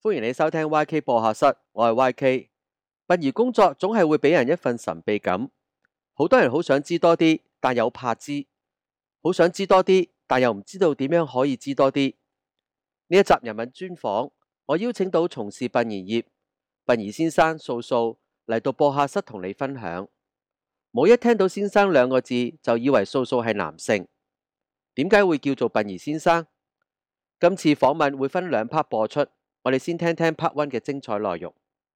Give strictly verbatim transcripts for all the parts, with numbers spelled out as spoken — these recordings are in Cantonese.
歡迎你收聽 Y K 播客室，我係 Y K。殯儀工作總係會俾人一份神秘感，好多人好想知多啲，但又怕知；好想知多啲，但又唔知道點樣可以知多啲。呢一集人物專訪，我邀請到從事殯儀業殯儀先生素素嚟到播客室同你分享。冇一聽到先生兩個字就以為素素係男性，點解會叫做殯儀先生？今次訪問會分兩 part 播出，我哋先聽聽 part one 嘅精彩內容。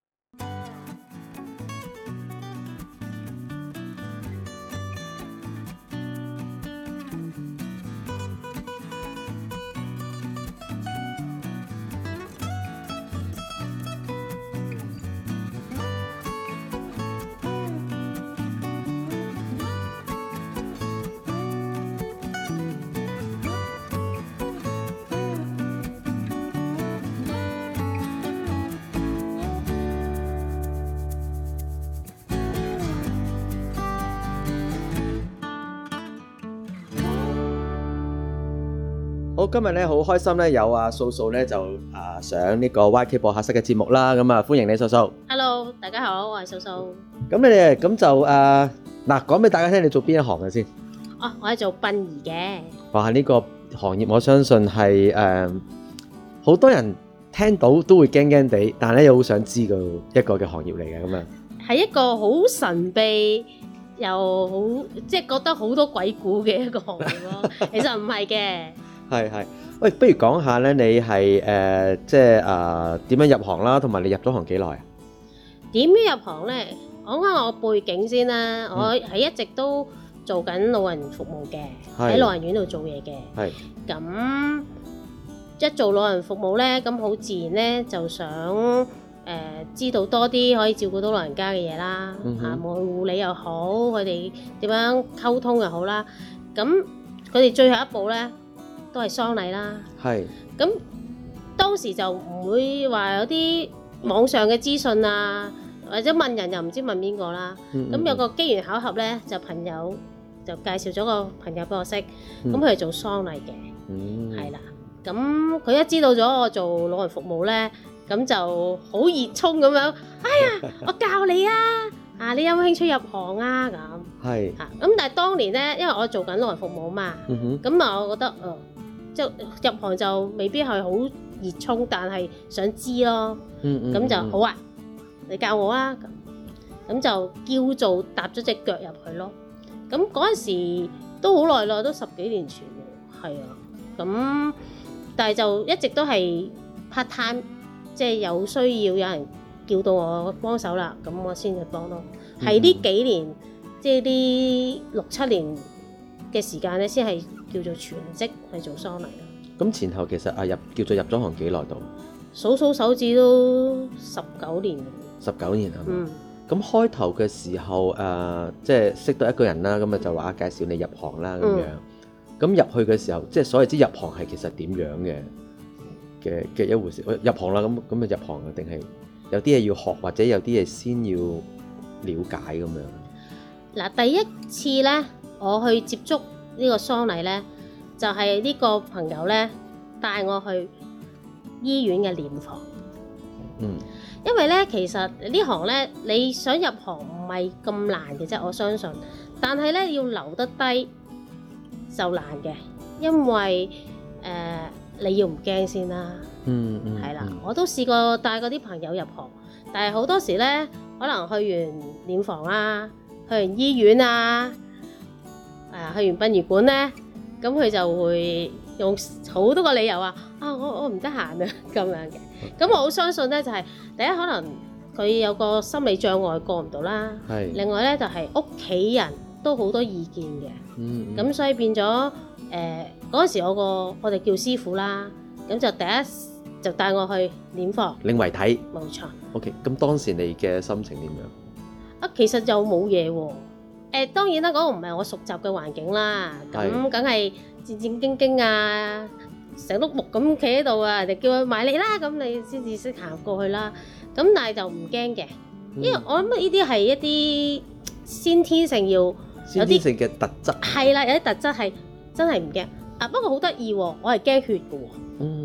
好，今日咧好開心咧，有阿素素咧就啊上呢個 Y K 播客室嘅節目啦，咁啊歡迎你素素。 Hello，大家好，我係素素。 咁你哋咁就誒嗱，講俾大家聽，你做邊一行嘅先？ 哦，我係做殯儀嘅。 哇，呢個行業我相信係誒好多人聽到都會驚驚地，但係咧又好想知嘅一個嘅行業嚟嘅咁樣。 係一個好神秘又好，即係覺得好多鬼故嘅一個行業咯。其實唔係嘅。 係係，喂，不如講下咧，你係誒即係誒點樣入行啦，同埋你入咗行幾耐啊？ 點樣入行咧？講下我背景先啦。嗯、我係一直都做緊老人服務嘅，喺老人院度做嘢嘅。係。咁一做老人服務咧，咁好自然咧，就想誒、呃、知道多啲可以照顧到老人家嘅嘢啦。嗯、哼啊，無論護理又好，佢哋點樣溝通又好啦。咁佢哋最後一步咧，都係喪禮啦，係咁當時就唔會話有啲網上嘅資訊啊，或者問人又唔知問邊個啦。咁、嗯嗯、有個機緣巧合咧，就朋友就介紹咗個朋友俾我識，咁佢係做喪禮嘅，係啦、嗯。咁佢一知道咗我做老人服務咧，咁就好熱衷咁樣，哎呀，我教你啊！啊，你有冇興趣入行啊？咁係嚇，咁但係當年咧，因為我做緊老人服務嘛，咁啊、嗯哼，我覺得誒。呃即入行就未必係好熱衷，但係想知咯。咁、嗯嗯、就好啊，你教我啊。咁咁就叫做踏咗隻腳入去咯。咁嗰陣時都好耐啦，都十幾年前喎。係啊。咁但係就一直都係 part time，即係有需要有人叫到我幫手啦，咁我先去幫咯。係呢、嗯、幾年，即係呢六七年嘅時間咧，先係叫做全職去做喪禮啦。 咁前後其實啊入叫做入咗行幾耐度？ 數數手指都十九年。 十九年係嘛？嗯。咁開頭嘅時候誒、呃，即係識到一個人啦，咁啊就話介紹你入行啦咁樣。咁、嗯、入去嘅時候，即係所謂之入行係其實點樣嘅嘅嘅一回事？入行啦，咁咁啊入行啊，定係有啲嘢要學，或者有啲嘢先要了解咁樣？ 嗱，第一次咧，我去接觸呢個喪禮咧，就係、是、呢個朋友咧帶我去醫院嘅殮房。嗯，因為咧其實呢行咧你想入行唔係咁難嘅啫，我相信。但係咧要留得低就難嘅，因為誒、呃、你要唔驚先啦。嗯嗯，係啦，我都試過帶嗰啲朋友入行，但係好多時咧可能去完殮房啊，去完醫院啊。誒去完殯儀館咧，咁佢就會用好多個理由話啊，我我唔得閒啊咁樣嘅。咁我好相信咧，就係、是、第一可能佢有個心理障礙過唔到啦。係。另外咧就係屋企人都好多意見嘅。嗯。咁、嗯、所以變咗誒嗰陣時我個我哋叫師傅啦，咁就第一就帶我去殮房領遺體。 冇錯。OK， 咁當時你嘅心情點樣？ 啊，其實就冇嘢喎。誒、呃、當然啦，嗰、那個唔係我熟習嘅環境啦，咁梗係戰戰兢兢啊，成碌木咁企喺度啊，人哋叫佢埋嚟啦，咁你先至識行過去啦。咁但係就唔驚嘅，因為我諗呢啲係一啲先天性要有啲先天性嘅特質。係啦，有啲特質係真係唔驚。啊，不過好得意喎，我係驚血嘅喎。嗯。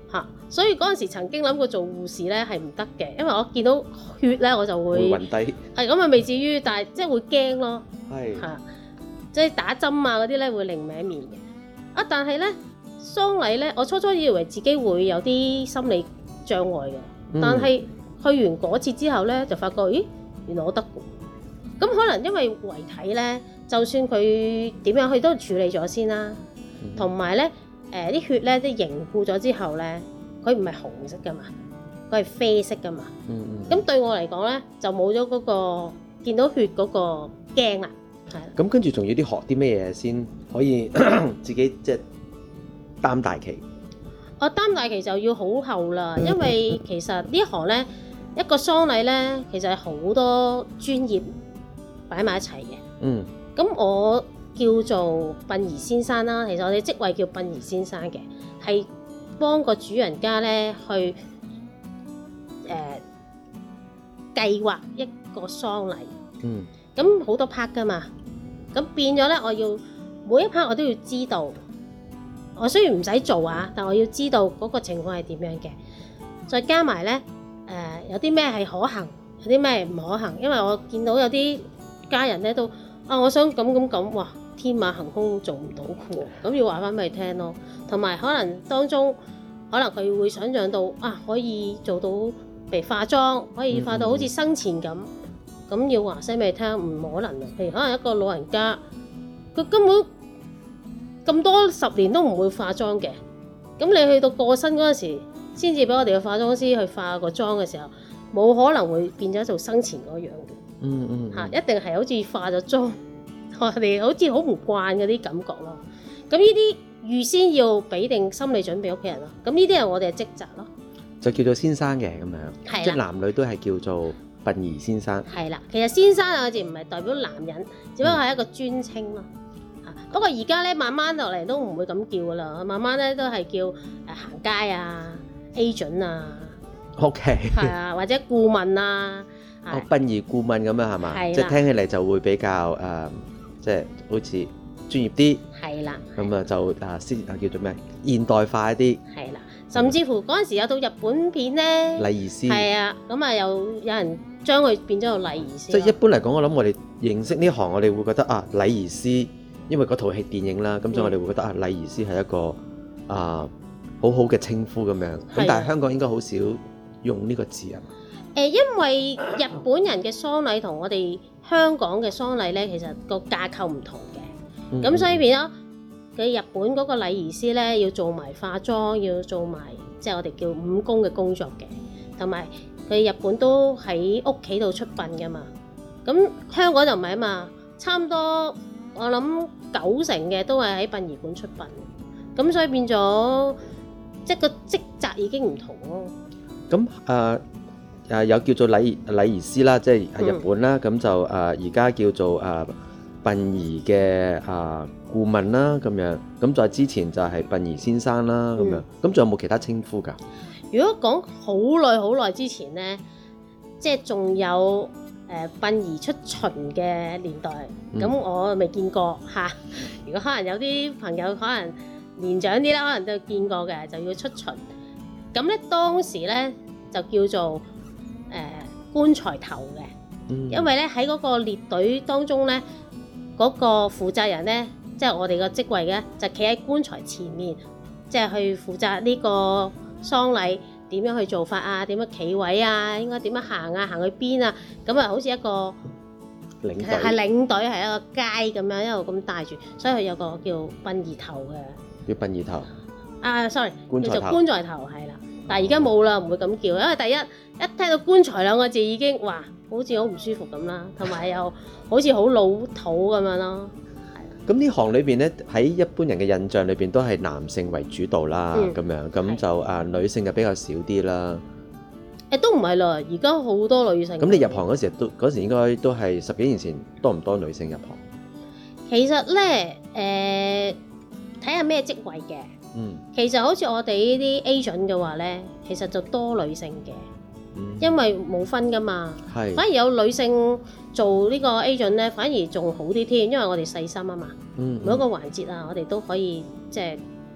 嚇，所以嗰陣時曾經諗過做護士咧係唔得嘅，因為我見到血咧我就會會暈低。 係咁啊，未至於，但係即係會驚咯。 係嚇，即係打針啊嗰啲咧會另歪面嘅。啊，但係咧喪禮咧，我初初以為自己會有啲心理障礙嘅， 嗯但係去完嗰次之後咧，就發覺咦，原來我得嘅。咁可能因為遺體咧，就算佢點樣，佢都處理咗先啦。同埋咧，誒啲血咧，即係凝固咗之後咧，佢唔係紅色噶嘛，佢係啡色噶嘛。 嗯嗯。 咁對我嚟講咧，就冇咗嗰個見到血嗰個驚啦。係。 咁跟住仲要啲學啲咩嘢先可以自己即係擔大旗？ 我擔大旗就要好後啦，因為其實呢一行咧，一個喪禮咧，其實係好多專業擺埋一齊嘅。嗯。咁我叫做殯儀先生啦，其實我哋職位叫殯儀先生嘅，係幫個主人家咧去誒、呃、計劃一個喪禮。嗯。咁好多 part 噶嘛，咁變咗咧，我要每一 part 我都要知道。我雖然唔使做啊，但我要知道嗰個情況係點樣嘅，再加埋咧誒有啲咩係可行，有啲咩唔可行，因為我見到有啲家人咧都啊，我想咁咁咁，哇，天馬行空做唔到嘅喎，咁要話翻俾佢聽咯。同埋可能當中可能佢會想像到啊，可以做到譬如化妝，可以化到好似生前咁，咁、嗯嗯、要話聲俾佢聽唔可能啊。譬如可能一個老人家，佢根本咁多十年都唔會化妝嘅，咁你去到過身嗰陣時，先至俾我哋嘅化妝師去化個妝嘅時候，冇可能會變咗做生前嗰樣嘅。嗯嗯，嚇、嗯，一定係好似化咗妝，我哋好似好唔慣嗰啲感覺咯。咁呢啲預先要俾定心理準備屋企人咯。咁呢啲係我哋嘅職責咯。就叫做先生嘅咁樣，即係男女都係叫做殯儀先生。係啦，其實先生有字唔係代表男人，只不過係一個尊稱咯。嚇、嗯，不過而家咧慢慢落嚟都唔會咁叫噶啦，慢慢咧都係叫誒行街啊、agent 啊。OK。係啊，或者顧問啊。哦，殯儀顧問咁樣係嘛？即係聽起嚟就會比較誒、呃，即係好似專業啲。係啦。咁啊就啊先啊叫做咩？現代化一啲。係啦，甚至乎嗰陣時有套日本片咧，禮儀師。係啊，咁啊有有人將佢變咗做禮儀師。即係一般嚟講，我諗我哋認識呢行，我哋會覺得啊禮儀師，因為嗰套戲電影啦，咁所以我哋會覺得啊禮儀師係一個啊好好嘅稱呼咁樣。咁但係香港應該好少用呢個字啊。誒，因為日本人嘅喪禮同我哋香港嘅喪禮咧，其實個架構唔同嘅，咁、嗯、所以變咗佢日本嗰個禮儀師咧，要做埋化妝，要做埋即係我哋叫五工嘅工作嘅，同埋佢日本都喺屋企度出殯㗎嘛，咁香港就唔係啊嘛，差唔多我諗九成嘅都係喺殯儀館出殯，咁所以變咗即係個職責已經唔同咯。咁誒。呃誒有叫做禮儀禮儀師啦，即係喺日本啦，咁、嗯、就誒而家叫做誒殯儀嘅誒顧問啦，咁樣，咁再之前就係殯儀先生啦，咁、嗯、樣，咁仲有冇其他稱呼㗎？如果講好耐好耐之前咧，即係仲有誒殯儀出巡嘅年代，咁、嗯、我未見過嚇。如果可能有啲朋友可能年長啲啦，可能都見過嘅，就要出巡。咁咧當時咧就叫做誒、呃、棺材頭嘅、嗯，因為咧喺嗰個列隊當中咧，嗰、那個負責人咧，即係我哋個職位嘅，就企喺棺材前面，即係去負責呢個喪禮點樣去做法啊，點樣企位啊，應該點樣行啊，行去邊啊，咁啊好似一個領隊，係領隊係一個街咁樣一路咁帶住，所以佢有個叫殯儀頭嘅，叫殯儀頭啊 ，sorry，叫做棺材頭係啦。但係而家冇啦，唔會咁叫，因為第一一聽到棺材兩個字已經哇，好似好唔舒服咁啦，同埋又好似好老土咁樣咯。係。咁呢行裏邊咧，喺一般人嘅印象裏邊都係男性為主導啦，咁、嗯、樣咁就啊女性就比較少啲啦。誒都唔係啦，而家好多女性。咁你入行嗰時都嗰時應該都係十幾年前多唔多女性入行？其實咧誒，睇下咩職位嘅。嗯，其實好似我哋呢啲 agent 嘅話咧，其實就多女性嘅、嗯，因為冇分噶嘛，係反而有女性做呢個 agent 咧，反而仲好啲添，因為我哋細心啊嘛，嗯嗯每一個環節啊，我哋都可以即係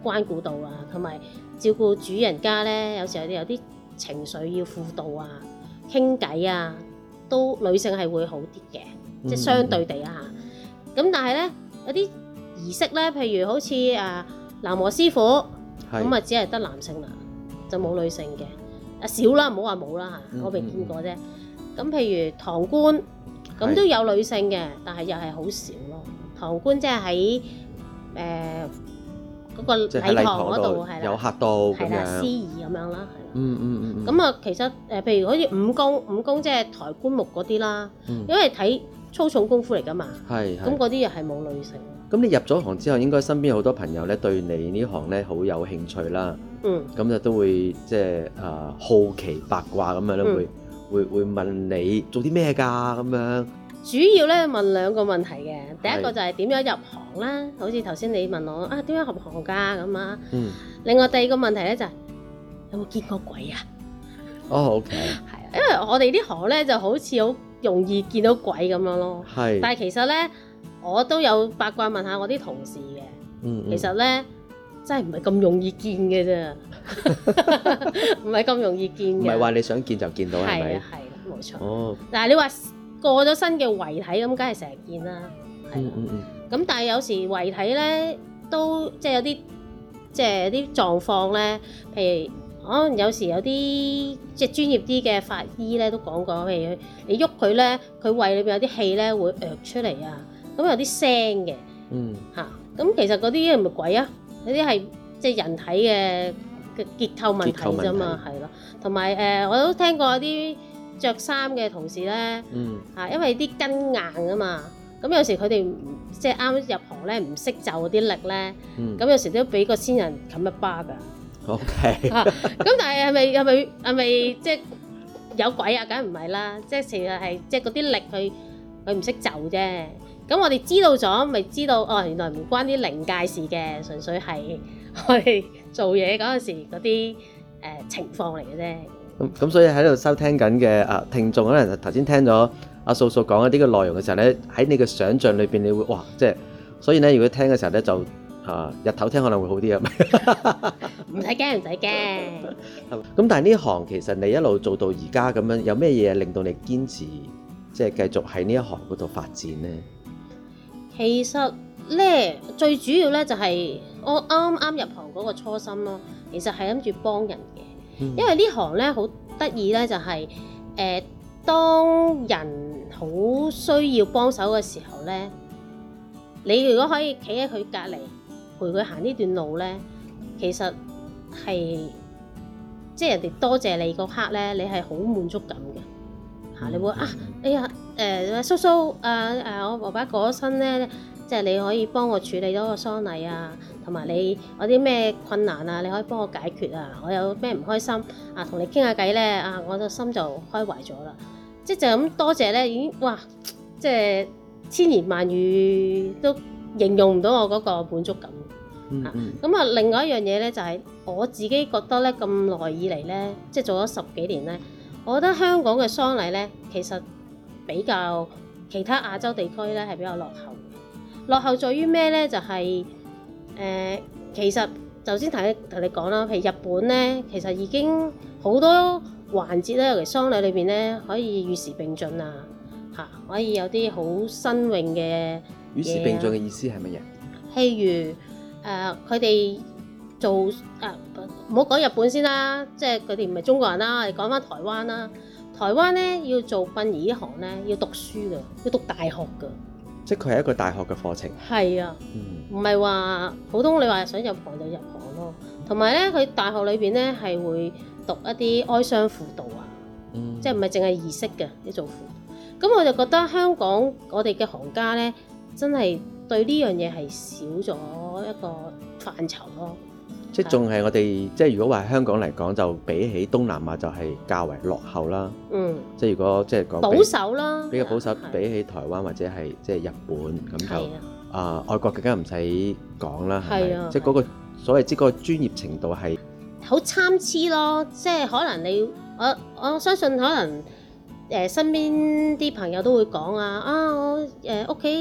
關顧到啊，同埋照顧主人家咧，有時候有啲情緒要輔導啊、傾偈啊，都女性係會好啲嘅，嗯、即係相對地啊嚇。咁但係咧有啲儀式咧，譬如好似啊喃嘸師傅，咁啊只係得男性啦，就冇女性嘅。啊少啦，唔好話冇啦嚇，我未見過啫。咁、嗯、譬如堂官，咁都有女性嘅，但係又係好少咯。堂官即係喺誒嗰個禮堂嗰度，係啦， 有客到咁樣， 司儀咁樣啦，係啦。 嗯嗯嗯。 咁啊，其實誒，譬如好似五公，五公即係抬棺木嗰啲啦，嗯、因為睇粗重功夫嚟㗎嘛。係。咁嗰啲又係冇女性。 咁你入咗行之後，應該身邊好多朋友咧對你呢行咧好有興趣啦。嗯。咁就都會即係啊好奇八卦咁樣咧，會會會問你做啲咩㗎咁樣。 主要咧問兩個問題嘅，第一個就係點樣入行啦，好似頭先你問我啊點樣入行㗎咁啊。嗯。另外第二個問題咧就係、是、有冇見過鬼啊？ 哦 ，OK。 係，因為我哋呢行咧就好似好容易見到鬼咁樣咯。係。但係其實咧，我都有八卦問下我啲同事嘅。嗯，嗯。其實咧真係唔係咁容易見嘅啫，唔係咁容易見嘅。唔係話你想見就見到係咪？ 係啊，係啦，冇錯。哦。但係你話過咗身嘅遺體咁，梗係成日見啦。係啦。嗯嗯。咁但係有時遺體咧都即係有啲即係有啲狀況咧，譬如可能有時有啲即係專業啲嘅法醫咧都講過，譬如你喐佢咧，佢胃裏邊有啲氣咧會躍出嚟啊，咁有啲聲嘅。嗯。嚇！咁其實嗰啲係咪鬼啊？嗰啲係即係人體嘅嘅結構問題啫嘛，係咯。同埋誒，我都聽過有啲着衫嘅同事咧，嗯，嚇，因為啲筋硬啊嘛，咁有時佢哋即係啱入行咧，唔識就嗰啲力咧，嗯，咁有時都俾個先人冚一巴㗎。OK。嚇，咁但係係咪係咪係咪即係有鬼啊？梗係唔係啦，即係其實係即係嗰啲力佢佢唔識就啫。咁我哋知道咗，咪知道哦，原來唔關啲靈界事嘅，純粹係我哋做嘢嗰陣時嗰啲誒情況嚟嘅啫。 咁咁所以喺度收聽緊嘅啊聽眾，可能頭先聽咗阿素素講一啲嘅內容嘅時候咧，喺你嘅想像裏邊，你會哇，即係所以咧，如果聽嘅時候咧，就啊日頭聽可能會好啲啊。 唔使驚，唔使驚。 咁但係呢行其實你一路做到而家咁樣，有咩嘢令到你堅持即係繼續喺呢一行嗰度發展咧？ 其實咧，最主要咧就係我啱啱入行嗰個初心咯。其實係諗住幫人嘅，嗯、因為呢行咧好得意咧，就係、是、誒、呃、當人好需要幫手嘅時候咧，你如果可以企喺佢隔離陪佢行呢段路咧，其實係即係人哋多謝你嗰刻咧，你係好滿足感嘅。你會啊，哎呀，誒、呃、叔叔，誒、呃、誒，我爸爸過咗身咧，即係你可以幫我處理咗個喪禮啊，同埋你有啲咩困難啊，你可以幫我解決啊，我有咩唔開心啊，同你傾下偈咧，啊，我個心就開懷咗啦，即係就咁多謝咧，已經哇，即係千言萬語都形容唔到我嗰個滿足感。嗯嗯。咁啊，另外一樣嘢咧，就係、是、我自己覺得咧，咁耐以嚟咧，即係做咗十幾年咧。我覺得香港嘅喪禮咧，其實比較其他亞洲地區咧係比較落後。落後在於咩咧？就係、是、誒、呃，其實頭先同你同你講啦，譬如日本咧，其實已經好多環節咧，尤其喪禮裏邊咧，可以與時並進啊，嚇，可以有啲好新穎嘅。 與時並進嘅意思係乜嘢？ 譬如誒，佢哋。做啊，唔好講日本先啦，即係佢哋唔係中國人啦，我哋講翻台灣啦。台灣咧要做殯儀呢行咧，要讀書㗎，要讀大學㗎。 即係佢係一個大學嘅課程。係啊，唔係話普通你話想入行就入行咯。同埋咧，佢大學裏邊咧係會讀一啲哀傷輔導啊，嗯、即係唔係淨係儀式嘅啲做輔導。咁我就覺得香港我哋嘅行家咧，真係對呢樣嘢係少咗一個範疇咯。 即係仲係我哋，即係如果話香港嚟講，就比起東南亞就係較為落後啦。嗯。即係如果即係講保守啦， 比較保守，比起台灣或者係即係日本咁就啊、呃，外國更加唔使講啦，係咪？即係嗰個所謂即係嗰個專業程度係好參差咯。即係可能你我我相信可能誒、呃、身邊啲朋友都會講啊啊，我誒屋企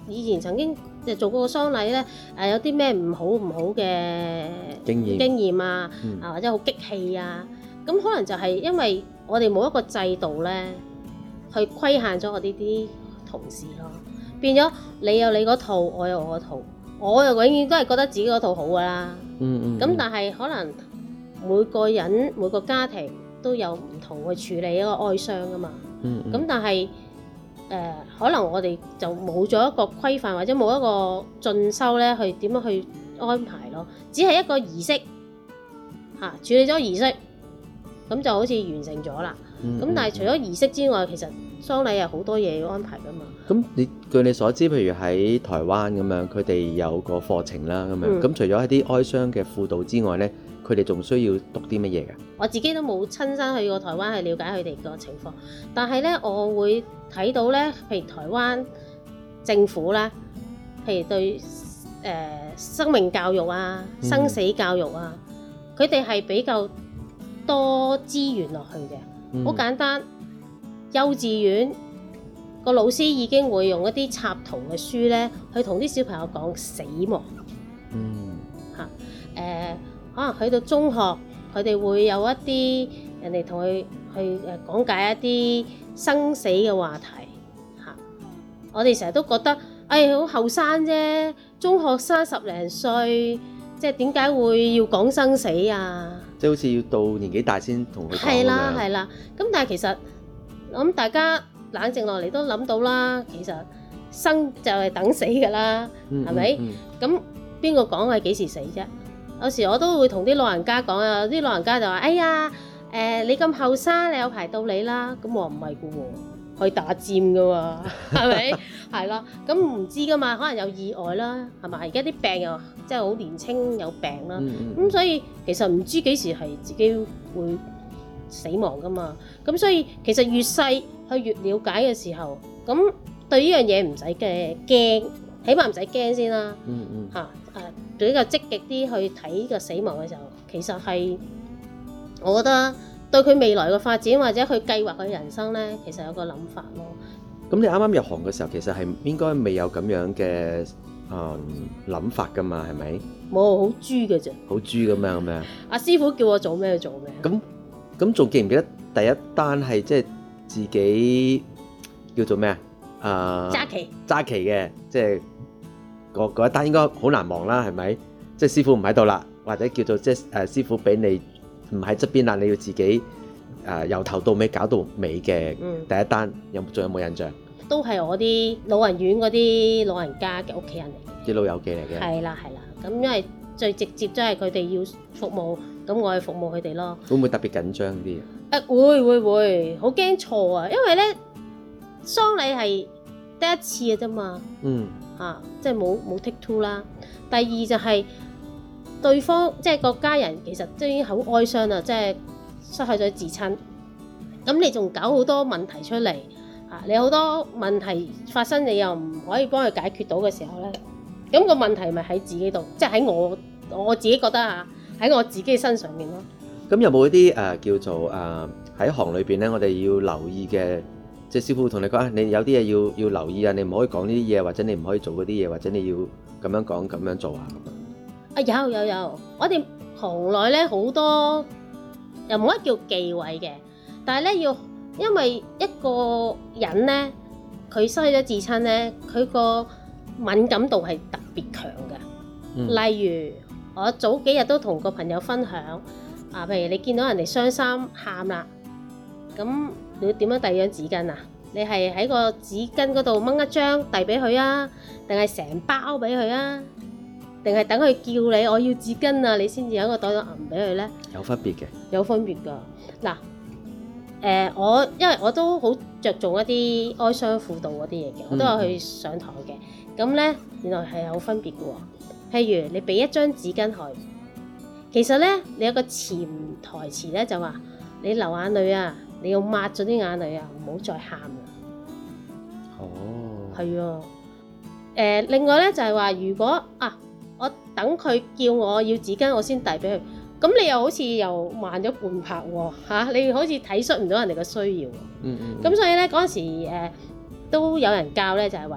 以前曾經做過個喪禮咧，誒有啲咩唔好唔好嘅經驗經驗啊， 嗯、 啊或者好激氣啊，咁可能就係因為我哋冇一個制度咧，去規限咗我呢啲同事咯，變咗你有你嗰套，我有我嗰套，我又永遠都係覺得自己嗰套好噶啦。 嗯嗯。 咁但係可能每個人每個家庭都有唔同去處理一個哀傷噶嘛。 嗯嗯。 咁但係誒、呃，可能我哋就冇咗一個規範或者冇一個進修咧，去點樣去安排咯？只係一個儀式嚇、啊，處理咗儀式，咁就好似完成咗啦。咁、嗯嗯、但係除咗儀式之外，其實喪禮有好多嘢要安排噶嘛。 咁你據你所知，譬如喺台灣咁樣，佢哋有個課程啦，咁樣咁、嗯、除咗一啲哀傷嘅輔導之外咧，佢哋仲需要讀啲乜嘢㗎？我自己都冇親身去過台灣去了解佢哋個情況，但係咧我會睇到咧，譬如台灣政府咧，譬如對誒、呃、生命教育啊、生死教育啊，佢哋係比較多資源落去嘅。好、嗯、簡單，幼稚園個老師已經會用一啲插圖嘅書咧，去同啲小朋友講死亡。嗯，嚇誒、呃，可能去到中學，佢哋會有一啲人哋同佢去誒講解一啲生死嘅話題嚇。我哋成日都覺得，誒好後生啫，中學生十零歲，即係點解會要講生死啊？即係好似要到年紀大先同佢講咁樣。係啦，係啦。咁但係其實我諗大家冷靜落嚟都諗到啦，其實生就係等死㗎啦，係咪？咁邊個講係幾時死啫？有時我都會同啲老人家講啊，啲老人家就話：哎呀，誒、呃、你咁後生，你有排到你啦。咁我唔係㗎喎，可以打尖㗎喎，係咪？係咯，咁唔知㗎嘛，可能有意外啦，係咪？而家啲病又即係好年青有病啦，咁、嗯嗯、所以其實唔知幾時係自己會死亡㗎嘛。咁所以其實越細去越了解嘅時候，咁對呢樣嘢唔使嘅驚，起碼唔使驚先啦。嗯嗯。嚇誒，比較積極啲去睇個死亡嘅時候，其實係我覺得對佢未來嘅發展或者佢計劃嘅人生咧，其實有個諗法咯。咁你啱啱入行嘅時候，其實係應該未有咁樣嘅誒諗法噶嘛？係咪？冇，好豬嘅啫。好豬咁樣咁樣。阿師傅叫我做咩就做咩。咁咁仲記唔記得第一單係即係自己叫做咩啊？誒揸旗揸旗嘅，即係嗰嗰一單應該好難忘啦，係咪？即係師傅唔喺度啦，或者叫做即係誒師傅俾你唔喺側邊啦，你要自己。誒、呃、由頭到尾搞到尾嘅第一單，嗯、有仲有冇印象？都係我啲老人院嗰啲老人家嘅屋企人嚟嘅，啲老友記嚟嘅。係啦係啦，咁因為最直接都係佢哋要服務，咁我去服務佢哋咯。會唔會特別緊張啲？誒、啊、會會會，好驚錯啊！因為咧喪禮係得一次嘅啫嘛。嗯。嚇、啊，即係冇冇 take two 啦。第二就係對方即係個家人，其實都已經好哀傷啦，即係。失去咗至親，咁你仲搞好多問題出嚟啊！你好多問題發生，你又唔可以幫佢解決到嘅時候咧，咁個問題咪喺自己度，即係喺我我自己覺得啊，喺我自己身上面咯。咁有冇一啲誒、呃、叫做誒喺、呃、行裏邊咧，我哋要留意嘅，即係師傅同你講啊，你有啲嘢要要留意啊，你唔可以講呢啲嘢，或者你唔可以做嗰啲嘢，或者你要咁樣講咁樣做啊咁樣。啊有有有，我哋行內咧好多。又冇得叫忌諱嘅，但係咧要，因為一個人咧，佢失去咗至親咧，佢個敏感度係特別強嘅。嗯、例如我早幾日都同個朋友分享，啊，譬如你見到人哋傷心喊啦，咁你要點樣遞張紙巾啊？你係喺個紙巾嗰度掹一張遞俾佢啊，定係成包俾佢啊？定係等佢叫你我要紙巾啊，你先至喺個袋度揞俾佢咧？有分別嘅，有分別㗎。嗱，誒、呃、我因為我都好着重一啲哀傷輔導嗰啲嘢嘅，我都有去上堂嘅。咁咧、嗯、原來係有分別嘅喎。譬如你俾一張紙巾佢，其實咧你有個潛台詞咧就話你流眼淚啊，你要抹咗啲眼淚啊，唔好再喊啦。哦，係啊。誒、呃、另外咧就係、是、話如果啊。我等佢叫我要紙巾，我先遞俾佢。咁你又好似又慢咗半拍喎、啊、你好似體恤唔到人哋嘅需要。嗯嗯。咁所以咧嗰陣時誒、呃、都有人教咧，就係話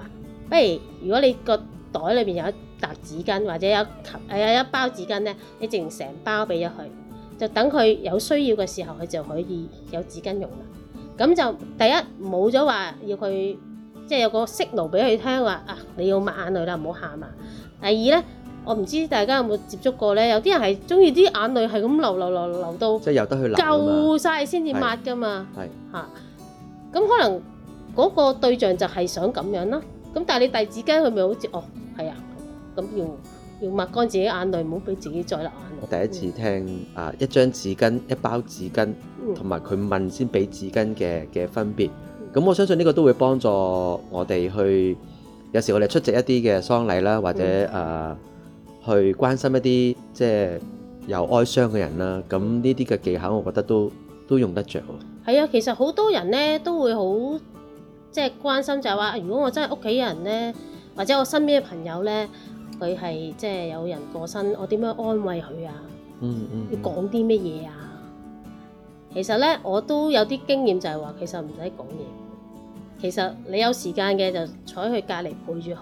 不如如果你個袋裏邊有一沓紙巾或者有誒有一包紙巾咧，你淨成包俾咗佢，就等佢有需要嘅時候，佢就可以有紙巾用啦。咁就第一冇咗話要佢即係有個 signal 俾佢聽話啊，你要抹眼淚啦，唔好喊啊。第二咧，我唔知大家有冇接觸過咧，有啲人係中意啲眼淚係咁流流流流到即係由得佢流夠晒先至抹噶嘛。係嚇，咁可能嗰個對象就係想咁樣啦。咁但係你遞紙巾，佢咪好似哦係啊，咁要要抹乾自己眼淚，唔好俾自己再流眼淚。 我第一次聽、嗯、啊，一張紙巾一包紙巾，同埋佢問先俾紙巾嘅嘅分別。咁、嗯、我相信呢個都會幫助我哋去，有時我哋出席一啲嘅喪禮啦，或者誒、嗯呃、去關心一啲即係有哀傷嘅人啦。咁呢啲嘅技巧，我覺得都都用得着。 係啊，其實好多人咧都會好即係關心，就係話，如果我真係屋企人咧，或者我身邊嘅朋友咧，佢係即係有人過身，我點樣安慰佢啊？嗯嗯，要講啲乜嘢啊？其實咧，我都有啲經驗，就係話其實唔使講嘢。其實你有時間嘅就坐喺佢隔離陪住佢。誒、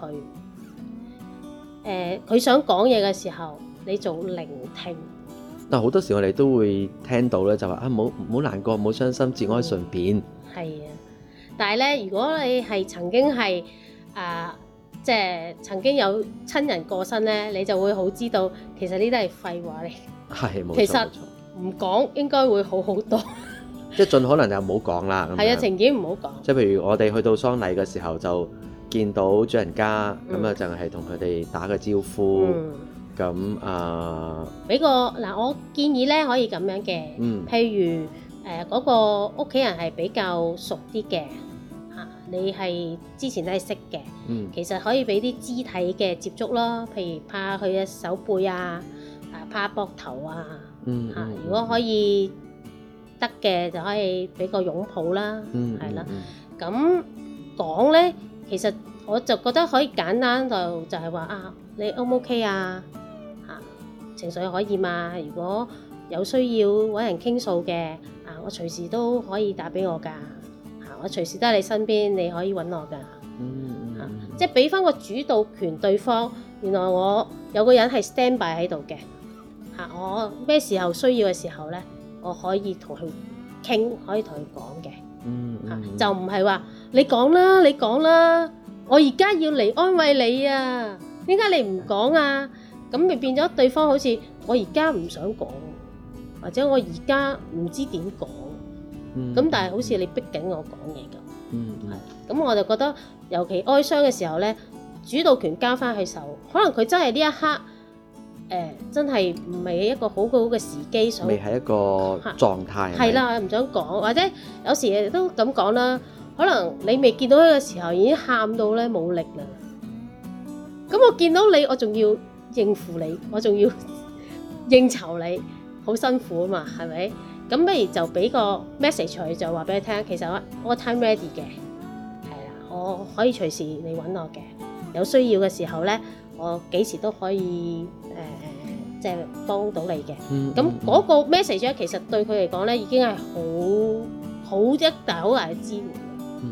呃，佢想講嘢嘅時候，你做聆聽。 但好多時我哋都會聽到咧，就話啊，唔好唔好難過，唔好傷心，節哀順變。係、 嗯、啊，但係咧，如果你係曾經係啊，即係曾經有親人過身咧，你就會好知道，其實呢啲係廢話嚟。係冇錯，其實唔講應該會好好多。 即係盡可能就唔好講啦。 係啊，情景唔好講。 即係譬如我哋去到喪禮嘅時候，就見到主人家咁啊，嗯、就係同佢哋打個招呼。咁、嗯、啊，俾、 呃、個嗱，我建議咧可以咁樣嘅。嗯。譬如誒嗰、呃嗰個屋企人係比較熟啲嘅嚇，你係之前都係識嘅。嗯。其實可以俾啲肢體嘅接觸咯，譬如拍下佢嘅手背啊，啊拍下膊頭啊。嗯。嚇、啊，如果可以得嘅就可以俾個擁抱啦。嗯。係啦。咁講咧，其實我就覺得可以簡單就就係話啊，你 O 唔 OK 啊？情緒可以嘛？如果有需要揾人傾訴嘅，啊，我隨時都可以打俾我㗎，嚇、啊，我隨時都喺你身邊，你可以揾我㗎，嗯嗯、啊，即係俾翻個主導權對方。原來我有個人係 stand by 喺度嘅，嚇、啊，我咩時候需要嘅時候咧，我可以同佢傾，可以同佢講嘅，嚇、嗯嗯啊，就唔係話你講啦，你講啦，我而家要嚟安慰你啊，點解你唔講啊？咁咪變咗對方好似我而家唔想講，或者我而家唔知點講，咁、嗯、但係好似你逼緊我講嘢咁，係、嗯，咁、嗯、我就覺得尤其哀傷嘅時候咧，主導權交翻佢手，可能佢真係呢一刻，誒、呃、真係唔係一個好好嘅時機，想未係一個狀態， 係啦，唔想講，或者有時都咁講啦，可能你未見到佢嘅時候已經喊到咧冇力啦，咁我見到你，我仲要應付你，我仲要應酬你，好辛苦啊嘛，係咪？咁不如就俾個 message 佢，就話俾你聽，其實我我 time ready 嘅，係啦，我可以隨時你揾我嘅，有需要嘅時候咧，我幾時都可以誒、呃，即係幫到你嘅。咁、嗯、嗰、嗯、個 message 咧，其實對佢嚟講咧，已經係好好一大好大嘅支援。 嗯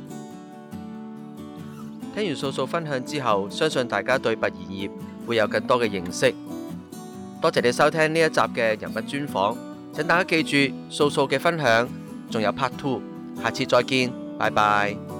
聽完素素分享之後，相信大家對殯儀業會有更多嘅認識。多謝你收聽呢一集嘅人物專訪，請大家記住素素嘅分享，仲有 part two，下次再見，拜拜。